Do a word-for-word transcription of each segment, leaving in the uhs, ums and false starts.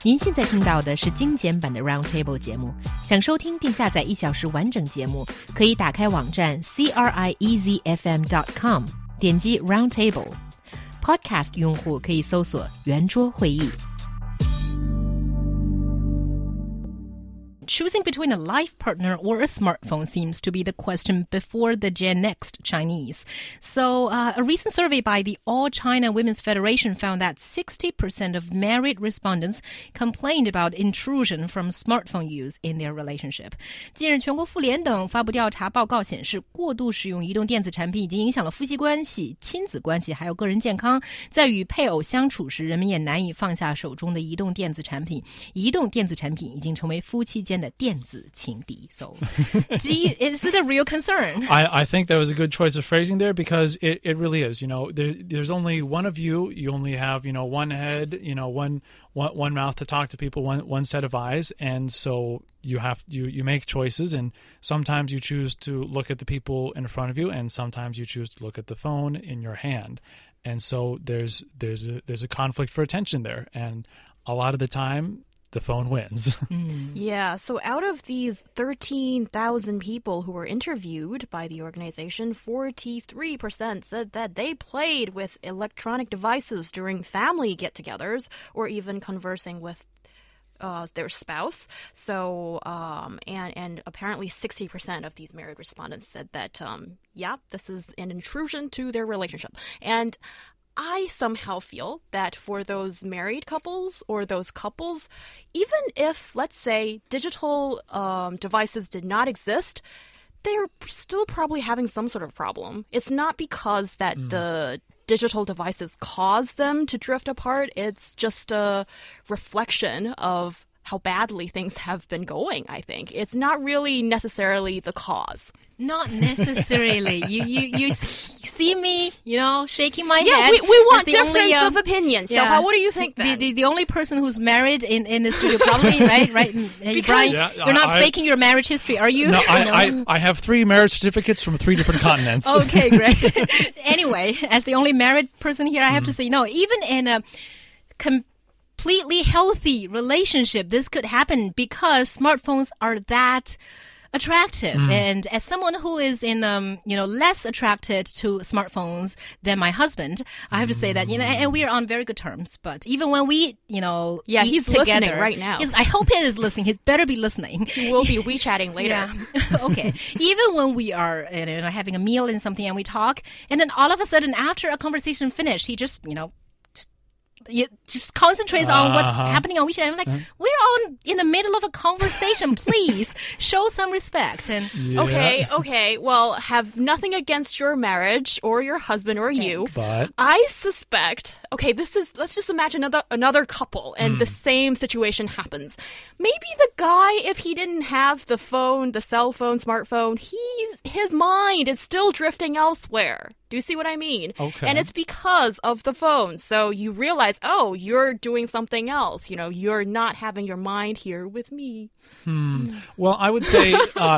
您现在听到的是精简版的 Roundtable 节目。想收听并下载一小时完整节目，可以打开网站 c r i e z f m dot com， 点击 Roundtable。Podcast 用户可以搜索圆桌会议。Choosing between a life partner or a smartphone seems to be the question before the Gen Next Chinese. So, uh, a recent survey by the All China Women's Federation found that sixty percent of married respondents complained about intrusion from smartphone use in their relationship. 近日，全国妇联等发布调查报告显示，过度使用移动电子产品已经影响了夫妻关系、亲子关系，还有个人健康。在与配偶相处时，人们也难以放下手中的移动电子产品。移动电子产品已经成为夫妻间的电子情敌。So, do you, is it a real concern? I, I think that was a good choice of phrasing there because it, it really is. You know, there, there's only one of you. You only have, you know, one head, you know, one, one, one mouth to talk to people, one, one set of eyes. And so you have, you, you make choices, and sometimes you choose to look at the people in front of you, and sometimes you choose to look at the phone in your hand. And so there's, there's a, there's a conflict for attention there. And a lot of the time, the phone wins. Mm. Yeah, so out of these thirteen thousand people who were interviewed by the organization, forty-three percent said that they played with electronic devices during family get-togethers or even conversing with uh, their spouse. So, um, and, and apparently sixty percent of these married respondents said that, um, yeah, this is an intrusion to their relationship. And I somehow feel that for those married couples or those couples, even if, let's say, digital um, devices did not exist, they're still probably having some sort of problem. It's not because that mm. the digital devices cause them to drift apart. It's just a reflection of how badly things have been going, I think. It's not really necessarily the cause. Not necessarily. you, you you see me, you know, shaking my yeah, head. Yeah, we, we want difference only, um, of opinion. So yeah, how, what do you think then? The, the, the only person who's married in, in the studio probably, right? right? Because, Brian, yeah, you're not I, faking your marriage history, are you? No, I, no. I, I have three marriage certificates from three different continents. Okay, great. Anyway, as the only married person here, I have mm. to say, no, even in a completely healthy relationship, this could happen because smartphones are that attractive. Mm. And as someone who is in, um, you know, less attracted to smartphones than my husband, I have to say that, you know, and we are on very good terms. But even when we, you know, yeah, eat he's together, listening right now. He's, I hope he is listening. He better be listening. He will be WeChatting later. Yeah. Okay. Even when we are, you know, having a meal and something and we talk, and then all of a sudden after a conversation finished, he just, you know, You just concentrates uh-huh. on what's happening on WeChat. I'm like, uh-huh. we're all in the middle of a conversation. Please show some respect. And yeah. Okay, okay. Well, have nothing against your marriage or your husband or Thanks. you. But I suspect. Okay, this is. Let's just imagine another another couple, and mm. the same situation happens. Maybe the guy, if he didn't have the phone, the cell phone, smartphone, he's his mind is still drifting elsewhere. Do you see what I mean? Okay. And it's because of the phone. So you realize, oh, you're doing something else. You know, you're not having your mind here with me. Hmm. Well, I would say... Uh,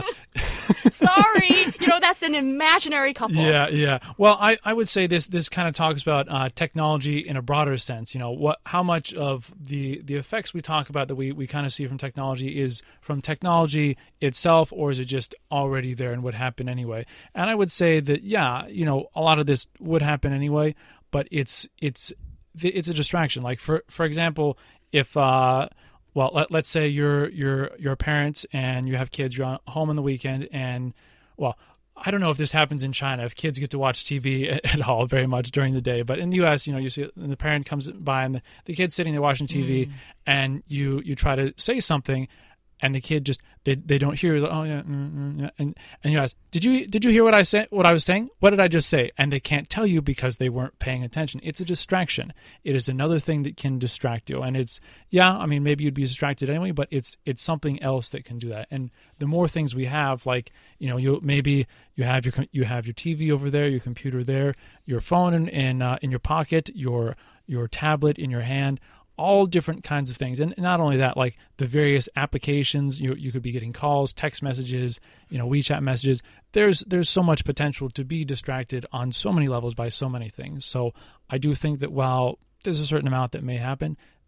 Sorry. You know, that's an imaginary couple. Yeah, yeah. Well, I, I would say this this kind of talks about uh, technology in a broader sense. You know, what how much of the, the effects we talk about that we, we kind of see from technology is from technology itself, or is it just already there and would happen anyway? And I would say that, yeah, you know, a lot of this would happen anyway, but it's it's it's a distraction. Like, for for example, if... Uh, Well, let, let's say you're you're you're parents and you have kids. You're home on the weekend, and well, I don't know if this happens in China. If kids get to watch T V at, at all very much during the day, but in the U S, you know, you see the parent comes by and the, the kid's sitting there watching T V, mm. and you you try to say something, and the kid just they they don't hear. Like, oh yeah, mm, mm, yeah, and and you ask, did you did you hear what I said? What I was saying? What did I just say? And they can't tell you because they weren't paying attention. It's a distraction. It is another thing that can distract you. And it's yeah, I mean maybe you'd be distracted anyway, but it's it's something else that can do that. And the more things we have, like you know, you maybe you have your you have your T V over there, your computer there, your phone in in, uh, in your pocket, your your tablet in your hand. All different kinds of things. And not only that, like the various applications, you you could be getting calls, text messages, you know, WeChat messages. There's there's so much potential to be distracted on so many levels by so many things. So I do think that while there's a certain amount that may happen,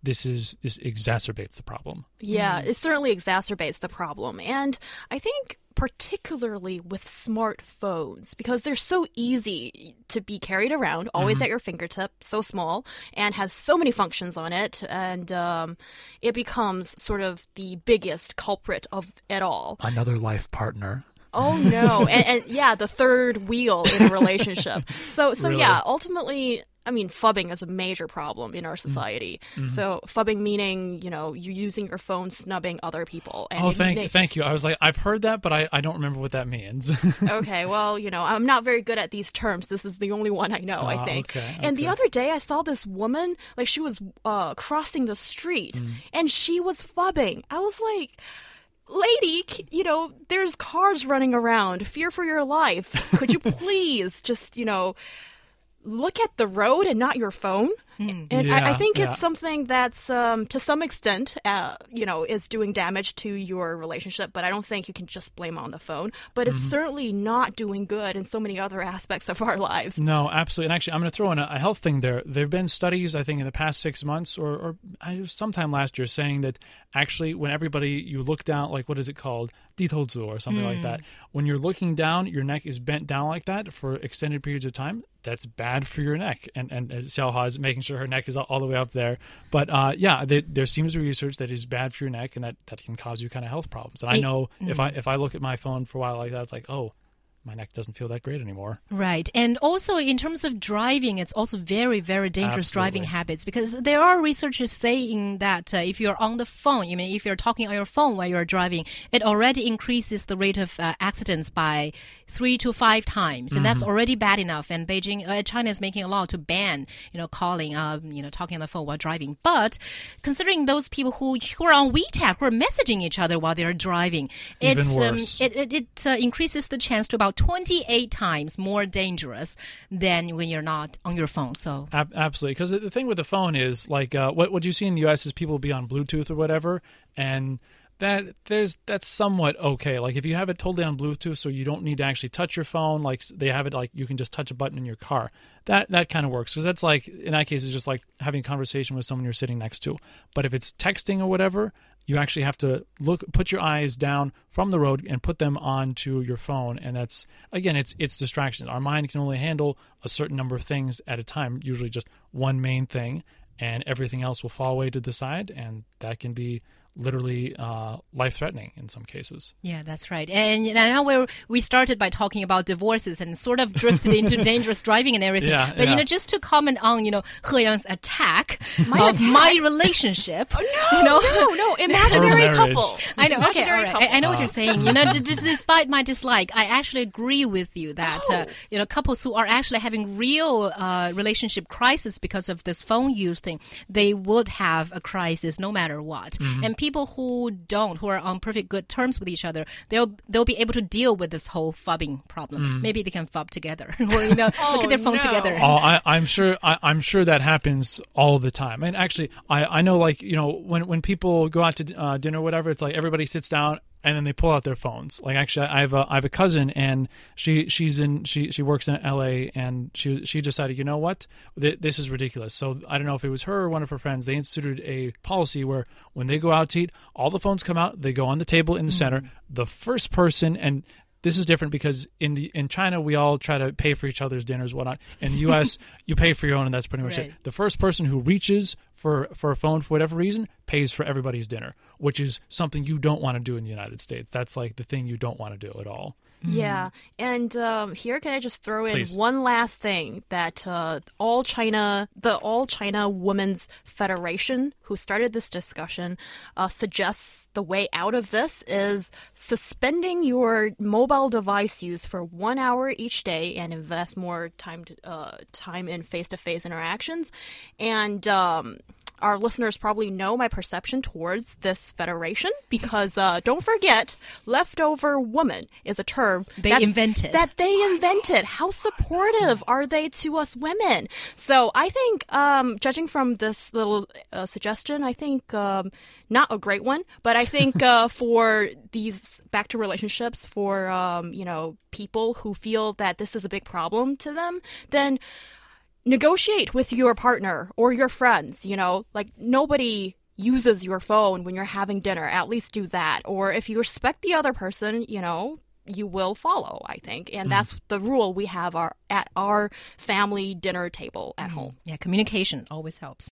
this is this exacerbates the problem. Yeah, it certainly exacerbates the problem. And I think particularly with smartphones, because they're so easy to be carried around, always mm-hmm. at your fingertip, so small, and has so many functions on it, and um, it becomes sort of the biggest culprit of it all. Another life partner. Oh, no. and, and yeah, the third wheel in a relationship. So, so really? yeah, ultimately, I mean, phubbing is a major problem in our society. Mm-hmm. So phubbing meaning, you know, you're using your phone snubbing other people. And oh, thank, they, thank you. I was like, I've heard that, but I, I don't remember what that means. Okay, well, you know, I'm not very good at these terms. This is the only one I know, uh, I think. Okay, and okay. the other day I saw this woman, like she was uh, crossing the street, mm. and she was phubbing. I was like... Lady, you know, there's cars running around. Fear for your life. Could you please just, you know, look at the road and not your phone? Mm. And yeah, I, I think yeah. it's something that's, um, to some extent, uh, you know, is doing damage to your relationship. But I don't think you can just blame on the phone. But it's mm-hmm. certainly not doing good in so many other aspects of our lives. No, absolutely. And actually, I'm going to throw in a, a health thing there. There have been studies, I think, in the past six months or, or sometime last year saying that actually when everybody, you look down, like what is it called? Ditouzu or something mm. like that. When you're looking down, your neck is bent down like that for extended periods of time. That's bad for your neck. And and Xiaohua is making sure her neck is all, all the way up there. But uh, yeah, they, there seems to be research that is bad for your neck and that, that can cause you kind of health problems. And I know mm. if I if I look at my phone for a while like that, it's like, oh, my neck doesn't feel that great anymore. Right. And also in terms of driving, it's also very, very dangerous Absolutely. driving habits because there are researchers saying that uh, if you're on the phone, I mean, if you're talking on your phone while you're driving, it already increases the rate of uh, accidents by three to five times. And mm-hmm. that's already bad enough. And Beijing, uh, China is making a law to ban, you know, calling, um, you know, talking on the phone while driving. But considering those people who, who are on WeChat, who are messaging each other while they're driving, Even it's, worse. Um, it, it, it uh, increases the chance to about twenty-eight times more dangerous than when you're not on your phone. So Ab- absolutely, because the thing with the phone is like uh, what what you see in the U S is people will be on Bluetooth or whatever, and that there's that's somewhat okay. Like if you have it totally on Bluetooth, so you don't need to actually touch your phone. Like they have it like you can just touch a button in your car. That that kind of works because that's like in that case it's just like having a conversation with someone you're sitting next to. But if it's texting or whatever, you actually have to look, put your eyes down from the road and put them onto your phone. And that's, again, it's it's distraction. Our mind can only handle a certain number of things at a time, usually just one main thing, and everything else will fall away to the side, and that can be literally uh, life-threatening in some cases. Yeah, that's right. And now we're, we started by talking about divorces and sort of drifted into dangerous driving and everything. Yeah, but, yeah. you know, just to comment on, you know, He Yang's attack my of attack? my relationship. Oh, no, you know? no, no, imaginary Her couple. I know, okay, Imaginary all right. couple. I, I know Uh. what you're saying. You know, d- d- despite my dislike, I actually agree with you that, Oh. uh, you know, couples who are actually having real uh, relationship crisis because of this phone use thing, they would have a crisis no matter what. Mm-hmm. And people who don't, who are on perfect good terms with each other, they'll they'll be able to deal with this whole phubbing problem. Mm. Maybe they can phub together, or you know, Oh, look at their phone no. together. Oh, I, I'm sure. I, I'm sure that happens all the time. And actually, I, I know, like you know, when when people go out to uh, dinner or whatever, it's like everybody sits down and then they pull out their phones. Like actually, I have a I have a cousin, and she she's in she she works in L A, and she she decided, you know what, Th- this is ridiculous. So I don't know if it was her or one of her friends. They instituted a policy where when they go out to eat, all the phones come out. They go on the table in the mm. center. The first person and this is different because in the in China we all try to pay for each other's dinners, whatnot. In the U S, you pay for your own, and that's pretty much Right. it. The first person who reaches for for a phone for whatever reason pays for everybody's dinner, which is something you don't want to do in the United States. That's like the thing you don't want to do at all. Yeah, and um, here can I just throw in Please. one last thing that uh, All China, the All China Women's Federation, who started this discussion, uh, suggests the way out of this is suspending your mobile device use for one hour each day and invest more time to, uh, time in face-to-face interactions, and. Um, Our listeners probably know my perception towards this federation because uh, don't forget, leftover woman is a term They that's- invented. That they invented. How supportive are they to us women? So I think, um, judging from this little uh, suggestion, I think um, not a great one, but I think uh, for these back to relationships, for um, you know people who feel that this is a big problem to them, then. negotiate with your partner or your friends, you know, like nobody uses your phone when you're having dinner. At least do that. Or if you respect the other person, you know, you will follow, I think. And mm. that's the rule we have our at our family dinner table at mm. home. Yeah, communication always helps.